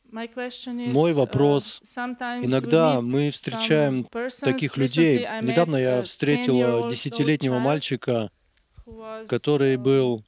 Мой вопрос. Иногда мы встречаем таких людей. Недавно я встретила 10-летнего мальчика, который был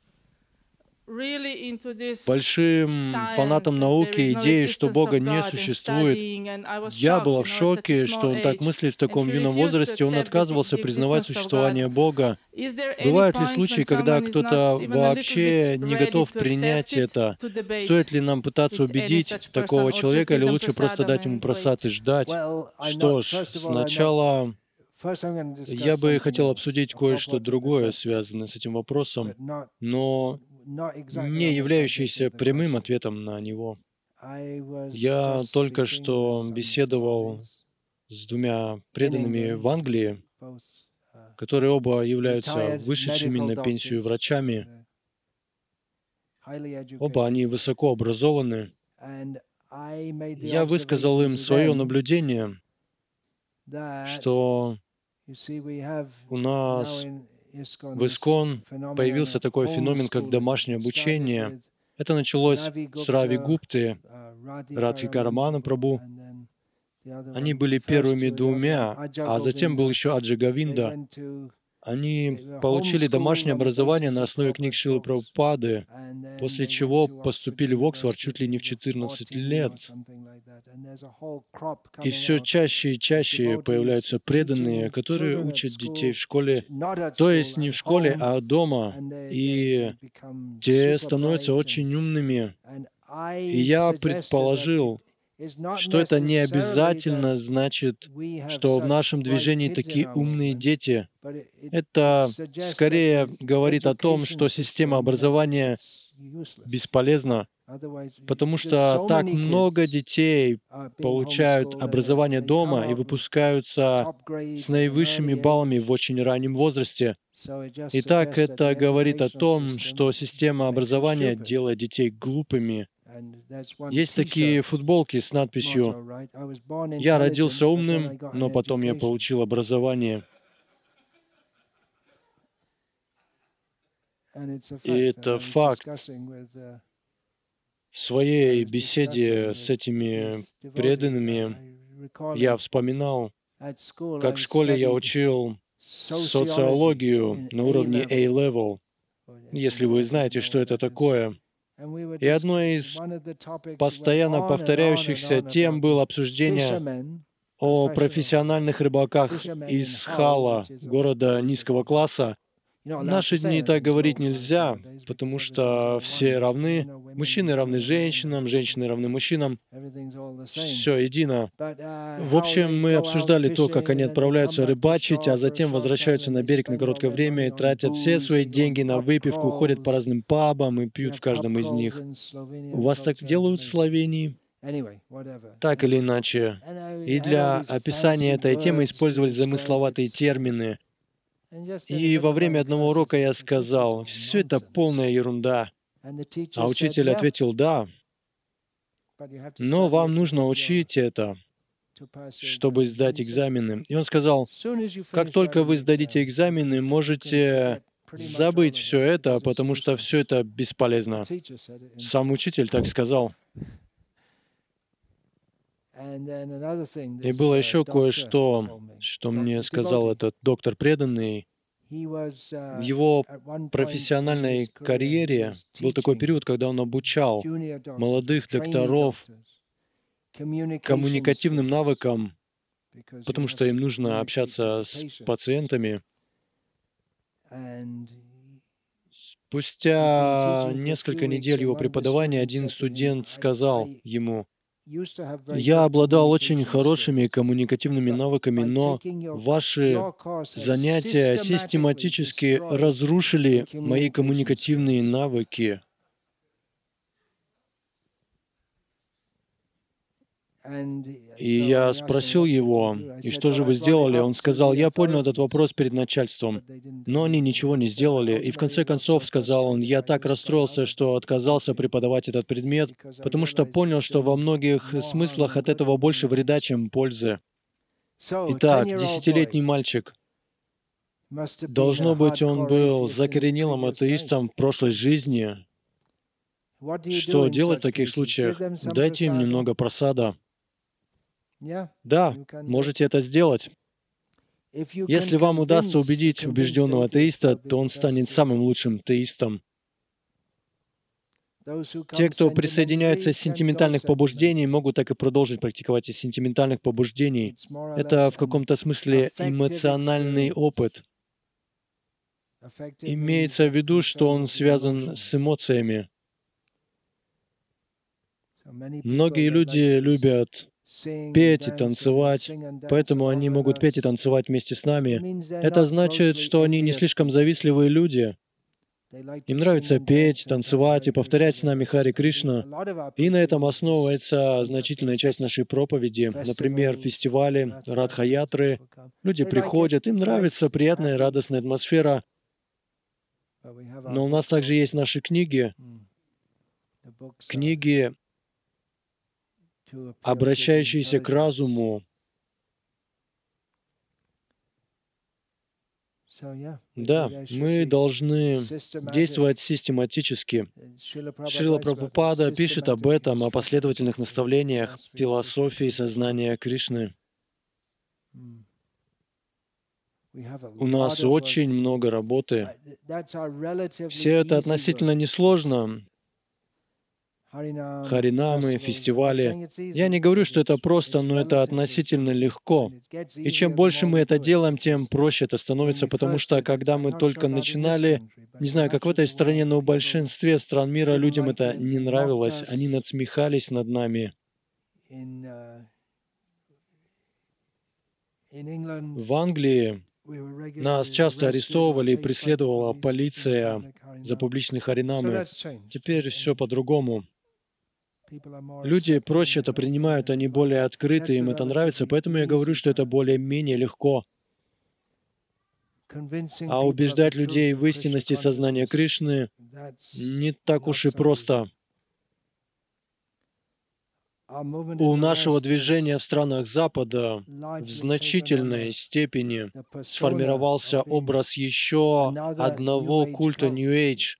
большим фанатом науки, идеи, что Бога не существует. Я была в шоке, что он так мыслит в таком юном возрасте. Он отказывался признавать существование Бога. Бывают ли случаи, когда кто-то вообще не готов принять это? Стоит ли нам пытаться убедить такого человека, или лучше просто дать ему просад и ждать? Что ж, сначала я бы хотел обсудить кое-что другое, связанное с этим вопросом, но не являющийся прямым ответом на него. Я только что беседовал с двумя преданными в Англии, которые оба являются вышедшими на пенсию врачами. Оба они высоко образованы. Я высказал им свое наблюдение, что у нас в ИСККОН появился такой феномен, как домашнее обучение. Это началось с Рави Гупты, Радхикара Прабhu. Они были первыми двумя, а затем был еще Аджи Говинда. Они получили домашнее образование на основе книг Шрилы Прабхупады, после чего поступили в Оксфорд чуть ли не в 14 лет. И все чаще и чаще появляются преданные, которые учат детей в школе, то есть не в школе, а дома. И те становятся очень умными. И я предположил, что это не обязательно значит, что в нашем движении такие умные дети. Это скорее говорит о том, что система образования бесполезна, потому что так много детей получают образование дома и выпускаются с наивысшими баллами в очень раннем возрасте. Итак, это говорит о том, что система образования делает детей глупыми. Есть такие футболки с надписью «Я родился умным, но потом я получил образование». И это факт. В своей беседе с этими преданными я вспоминал, как в школе я учил социологию на уровне A-level, если вы знаете, что это такое. И одной из постоянно повторяющихся тем было обсуждение о профессиональных рыбаках из Хала, города низкого класса. В наши дни так говорить нельзя, потому что все равны. Мужчины равны женщинам, женщины равны мужчинам. Все едино. В общем, мы обсуждали то, как они отправляются рыбачить, а затем возвращаются на берег на короткое время и тратят все свои деньги на выпивку, ходят по разным пабам и пьют в каждом из них. У вас так делают в Словении? Так или иначе. И для описания этой темы использовались замысловатые термины. И во время одного урока я сказал, все это полная ерунда. А учитель ответил, да, но вам нужно учить это, чтобы сдать экзамены. И он сказал, как только вы сдадите экзамены, можете забыть все это, потому что все это бесполезно. Сам учитель так сказал. И было еще кое-что, что мне сказал этот доктор преданный. В его профессиональной карьере был такой период, когда он обучал молодых докторов коммуникативным навыкам, потому что им нужно общаться с пациентами. Спустя несколько недель его преподавания один студент сказал ему, «Я обладал очень хорошими коммуникативными навыками, но ваши занятия систематически разрушили мои коммуникативные навыки». И я спросил его, «И что же вы сделали?» Он сказал, «Я поднял этот вопрос перед начальством, но они ничего не сделали». И в конце концов, сказал он, «Я так расстроился, что отказался преподавать этот предмет, потому что понял, что во многих смыслах от этого больше вреда, чем пользы». Итак, 10-летний мальчик. Должно быть, он был закоренелым атеистом в прошлой жизни. Что делать в таких случаях? Дайте им немного просада. Да, можете это сделать. Если вам удастся убедить убежденного атеиста, то он станет самым лучшим теистом. Те, кто присоединяются из сентиментальных побуждений, могут так и продолжить практиковать из сентиментальных побуждений. Это в каком-то смысле эмоциональный опыт. Имеется в виду, что он связан с эмоциями. Многие люди любят петь и танцевать, поэтому они могут петь и танцевать вместе с нами. Это значит, что они не слишком завистливые люди. Им нравится петь, танцевать и повторять с нами Хари Кришна. И на этом основывается значительная часть нашей проповеди. Например, фестивали, радха-ятры. Люди приходят, им нравится приятная, радостная атмосфера. Но у нас также есть наши книги, обращающиеся к разуму. Да, мы должны действовать систематически. Шрила Прабхупада пишет об этом, о последовательных наставлениях философии сознания Кришны. У нас очень много работы. Все это относительно несложно. Харинамы, фестивали. Я не говорю, что это просто, но это относительно легко. И чем больше мы это делаем, тем проще это становится, потому что, когда мы только начинали, не знаю, как в этой стране, но в большинстве стран мира людям это не нравилось, они надсмехались над нами. В Англии нас часто арестовывали и преследовала полиция за публичные харинамы. Теперь все по-другому. Люди проще это принимают, они более открыты, им это нравится, поэтому я говорю, что это более-менее легко. А убеждать людей в истинности сознания Кришны не так уж и просто. У нашего движения в странах Запада в значительной степени сформировался образ еще одного культа New Age.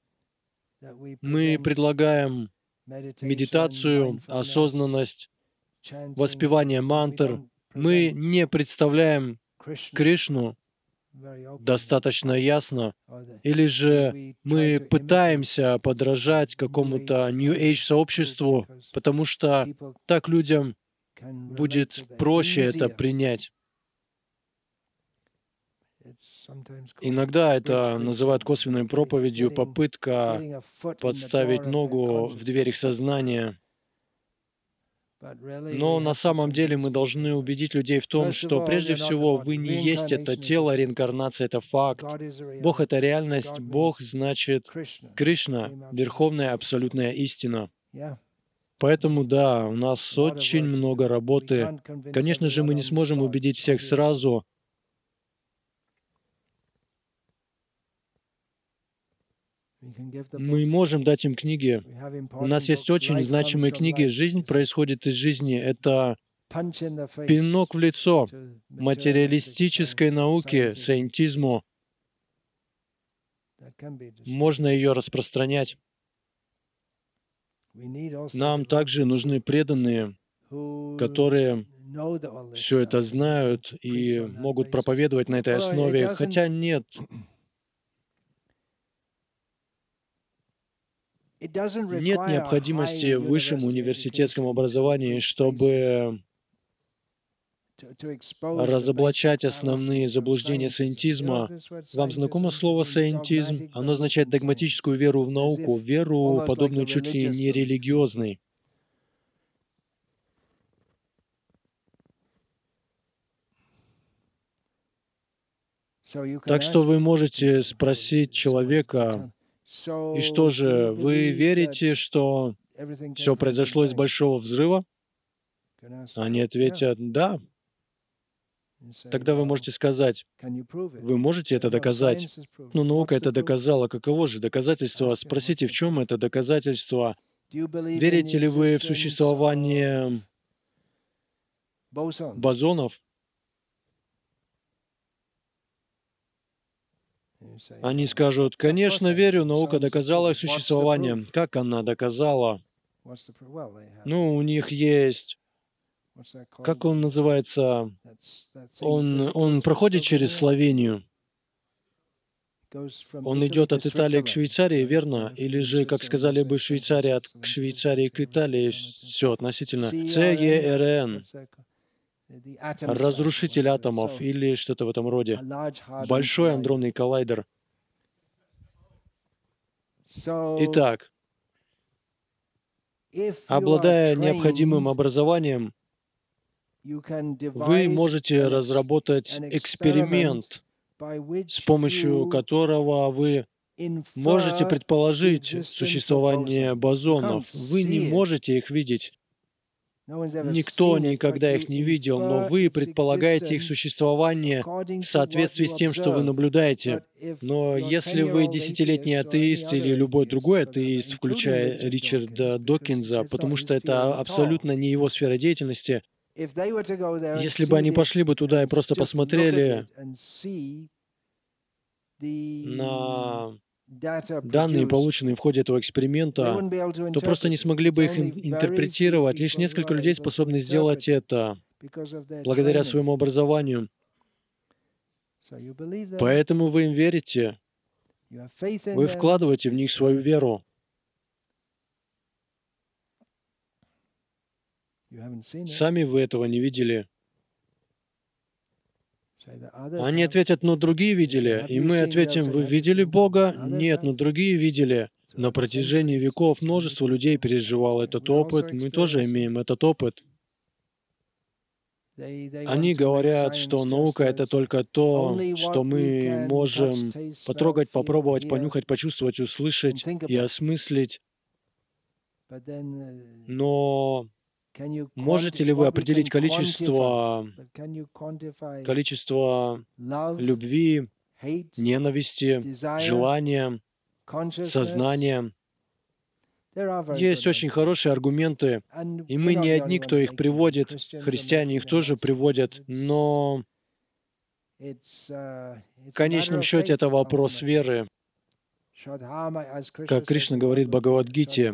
Мы предлагаем медитацию, осознанность, воспевание мантр. Мы не представляем Кришну достаточно ясно, или же мы пытаемся подражать какому-то New Age сообществу, потому что так людям будет проще это принять. Иногда это называют косвенной проповедью, попытка подставить ногу в дверь их сознания. Но на самом деле мы должны убедить людей в том, что прежде всего вы не есть это тело, реинкарнация — это факт. Бог — это реальность, Бог значит Кришна, верховная абсолютная истина. Поэтому да, у нас очень много работы. Конечно же, мы не сможем убедить всех сразу. Мы можем дать им книги. У нас есть очень значимые книги. Жизнь происходит из жизни. Это пинок в лицо материалистической науке, саентизму. Можно ее распространять. Нам также нужны преданные, которые все это знают и могут проповедовать на этой основе. Хотя нет необходимости в высшем университетском образовании, чтобы разоблачать основные заблуждения саентизма. Вам знакомо слово «саентизм»? Оно означает догматическую веру в науку, веру, подобную чуть ли не религиозной. Так что вы можете спросить человека: «И что же, вы верите, что все произошло из Большого взрыва?» Они ответят: «Да». Тогда вы можете сказать: «Вы можете это доказать?» «Ну, наука это доказала. Каково же доказательство?» Спросите, в чем это доказательство? Верите ли вы в существование бозонов? Они скажут, конечно, верю, наука доказала их существование. Как она доказала? Ну, у них есть, как он называется, он проходит через Словению. Он идет от Италии к Швейцарии, верно? Или же, как сказали бы в Швейцарии, от Швейцарии к Италии, все относительно. ЦЕРН, разрушитель атомов или что-то в этом роде. Большой андронный коллайдер. Итак, обладая необходимым образованием, вы можете разработать эксперимент, с помощью которого вы можете предположить существование бозонов. Вы не можете их видеть. Никто никогда их не видел, но вы предполагаете их существование в соответствии с тем, что вы наблюдаете. Но если вы десятилетний атеист или любой другой атеист, включая Ричарда Докинза, потому что это абсолютно не его сфера деятельности, если бы они пошли бы туда и просто посмотрели на данные, полученные в ходе этого эксперимента, то просто не смогли бы их интерпретировать. Лишь несколько людей способны сделать это благодаря своему образованию. Поэтому вы им верите. Вы вкладываете в них свою веру. Сами вы этого не видели. Они ответят, но другие видели. И мы ответим, вы видели Бога? Нет, но другие видели. На протяжении веков множество людей переживало этот опыт. Мы тоже имеем этот опыт. Они говорят, что наука — это только то, что мы можем потрогать, попробовать, понюхать, почувствовать, услышать и осмыслить. Но можете ли вы определить количество любви, ненависти, желания, сознания? Есть очень хорошие аргументы, и мы не одни, кто их приводит, христиане их тоже приводят, но в конечном счете это вопрос веры. Как Кришна говорит в Бхагавад-гите,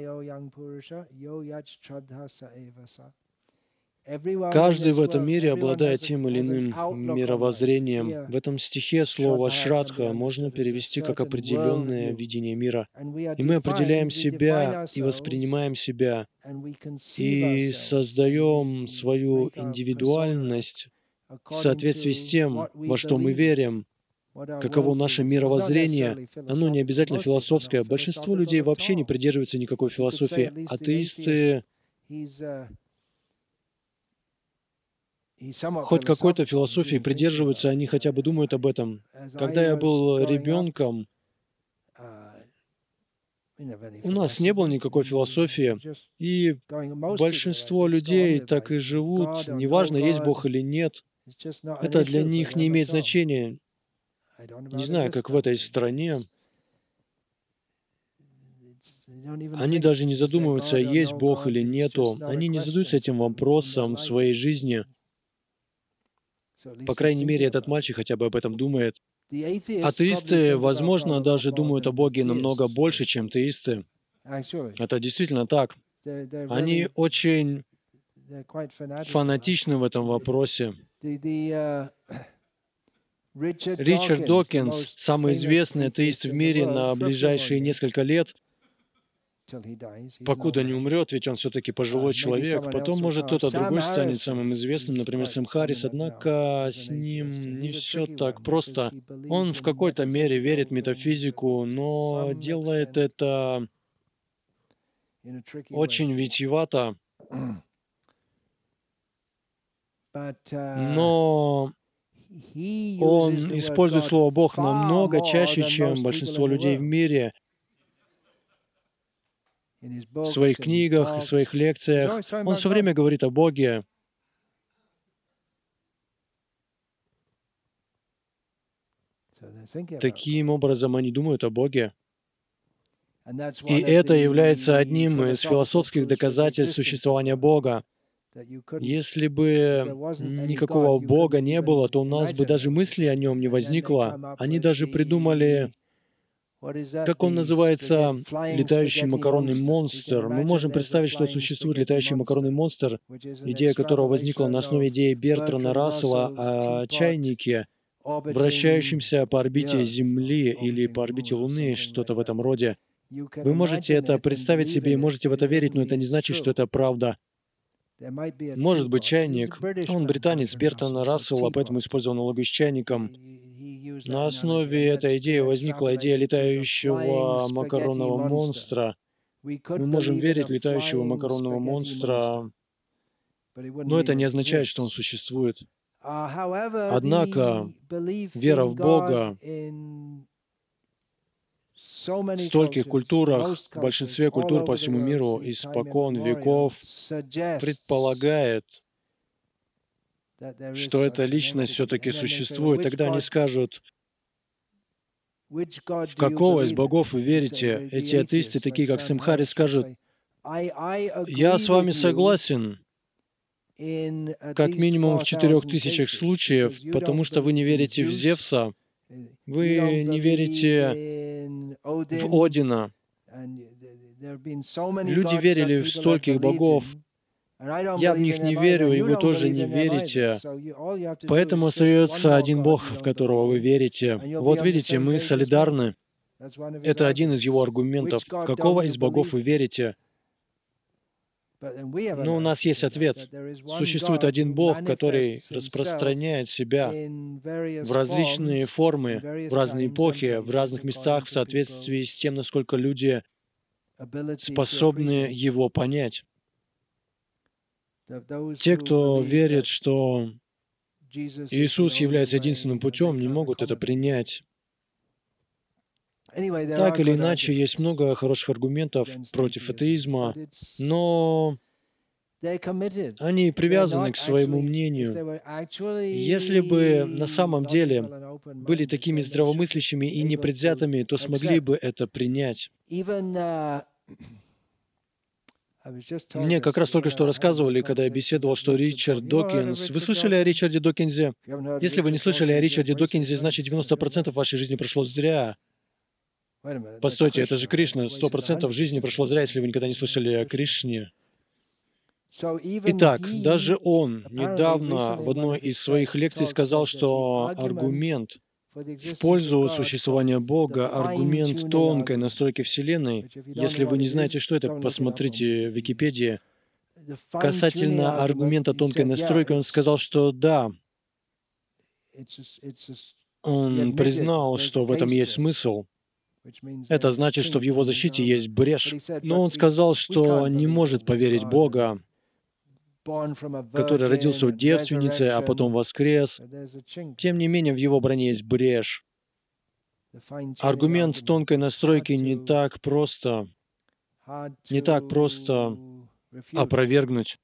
каждый в этом мире обладает тем или иным мировоззрением. В этом стихе слово «шрадха» можно перевести как определенное видение мира. И мы определяем себя и воспринимаем себя, и создаем свою индивидуальность в соответствии с тем, во что мы верим, каково наше мировоззрение. Оно не обязательно философское. Большинство людей вообще не придерживаются никакой философии. Атеисты хоть какой-то философии придерживаются, они хотя бы думают об этом. Когда я был ребенком, у нас не было никакой философии, и большинство людей так и живут, неважно, есть Бог или нет. Это для них не имеет значения. Не знаю, как в этой стране. Они даже не задумываются, есть Бог или нету. Они не задаются этим вопросом в своей жизни. По крайней мере, этот мальчик хотя бы об этом думает. Атеисты, возможно, даже думают о Боге намного больше, чем теисты. Это действительно так. Они очень фанатичны в этом вопросе. Ричард Докинз, самый известный атеист в мире на ближайшие несколько лет, покуда не умрет, ведь он все-таки пожилой человек, потом, может, кто-то другой станет самым известным, например, Сэм Харрис, однако с ним не все так просто. Он в какой-то мере верит в метафизику, но делает это очень витиевато. Но он использует слово «Бог» намного чаще, чем большинство людей в мире. В своих книгах, в своих лекциях. Он все время говорит о Боге. Таким образом, они думают о Боге. И это является одним из философских доказательств существования Бога. Если бы никакого Бога не было, то у нас бы даже мысли о нем не возникло. Они даже придумали, как он называется, летающий макаронный монстр. Мы можем представить, что существует летающий макаронный монстр, идея которого возникла на основе идеи Бертрана Рассела о чайнике, вращающемся по орбите Земли или по орбите Луны, что-то в этом роде. Вы можете это представить себе и можете в это верить, но это не значит, что это правда. Может быть, чайник. Он британец Бертрана Рассела, поэтому использовал аналогию с чайником. На основе этой идеи возникла идея летающего макаронного монстра. Мы можем верить в летающего макаронного монстра, но это не означает, что он существует. Однако вера в Бога в стольких культурах, в большинстве культур по всему миру испокон веков предполагает, что эта личность все-таки существует. Тогда они скажут, в какого из богов вы верите? Эти атеисты, такие как Сэм Харрис, скажут, я с вами согласен, как минимум в 4000 случаев, потому что вы не верите в Зевса, вы не верите в Одина. Люди верили в стольких богов. Я в них не верю, и вы тоже не верите. Поэтому остается один Бог, в которого вы верите. Вот видите, мы солидарны. Это один из его аргументов. В какого из богов вы верите? Но у нас есть ответ. Существует один Бог, который распространяет себя в различные формы, в разные эпохи, в разных местах, в соответствии с тем, насколько люди способны его понять. Те, кто верит, что Иисус является единственным путем, не могут это принять. Так или иначе, есть много хороших аргументов против атеизма, но они привязаны к своему мнению. Если бы на самом деле были такими здравомыслящими и непредвзятыми, то смогли бы это принять. Мне как раз только что рассказывали, когда я беседовал, что Ричард Докинз... Вы слышали о Ричарде Докинзе? Если вы не слышали о Ричарде Докинзе, значит 90% вашей жизни прошло зря. Постойте, это же Кришна. 100% жизни прошло зря, если вы никогда не слышали о Кришне. Итак, даже он недавно в одной из своих лекций сказал, что аргумент в пользу существования Бога, аргумент тонкой настройки Вселенной, если вы не знаете, что это, посмотрите в Википедии, касательно аргумента тонкой настройки, он сказал, что да, он признал, что в этом есть смысл. Это значит, что в его защите есть брешь. Но он сказал, что не может поверить в Бога, который родился от девственницы, а потом воскрес. Тем не менее, в его броне есть брешь. Аргумент тонкой настройки не так просто опровергнуть.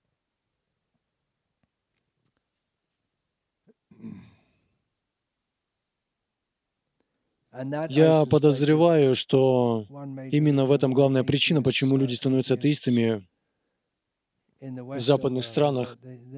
Я подозреваю, что именно в этом главная причина, почему люди становятся атеистами в западных странах.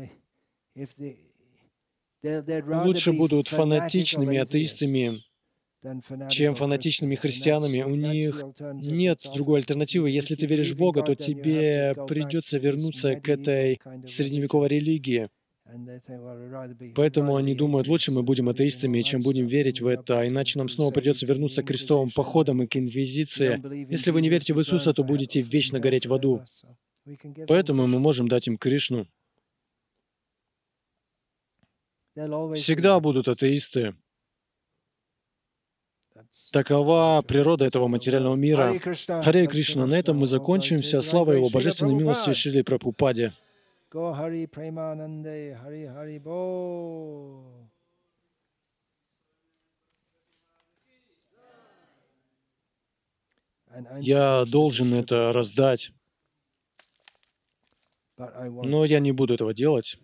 Лучше будут фанатичными атеистами, чем фанатичными христианами. У них нет другой альтернативы. Если ты веришь в Бога, то тебе придется вернуться к этой средневековой религии. Поэтому они думают, лучше мы будем атеистами, чем будем верить в это, иначе нам снова придется вернуться к крестовым походам и к инквизиции. Если вы не верите в Иисуса, то будете вечно гореть в аду. Поэтому мы можем дать им Кришну. Всегда будут атеисты. Такова природа этого материального мира. Харе Кришна. На этом мы закончимся. Слава Его Божественной милости Шрили Прабхупаде. Я должен это раздать, но я не буду этого делать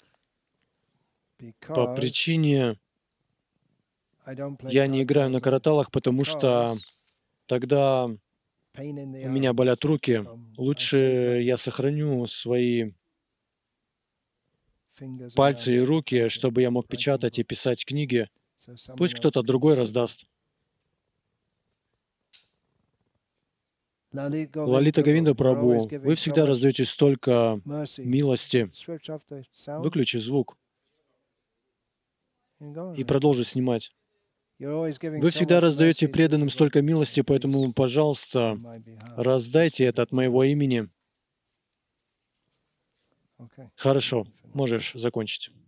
по причине, я не играю на караталах, потому что тогда у меня болят руки. Лучше я сохраню свои пальцы и руки, чтобы я мог печатать и писать книги. Пусть кто-то другой раздаст. Лалита Говинда Прабху, вы всегда раздаете столько милости. Выключи звук и продолжи снимать. Вы всегда раздаете преданным столько милости, поэтому, пожалуйста, раздайте это от моего имени. Хорошо, можешь закончить.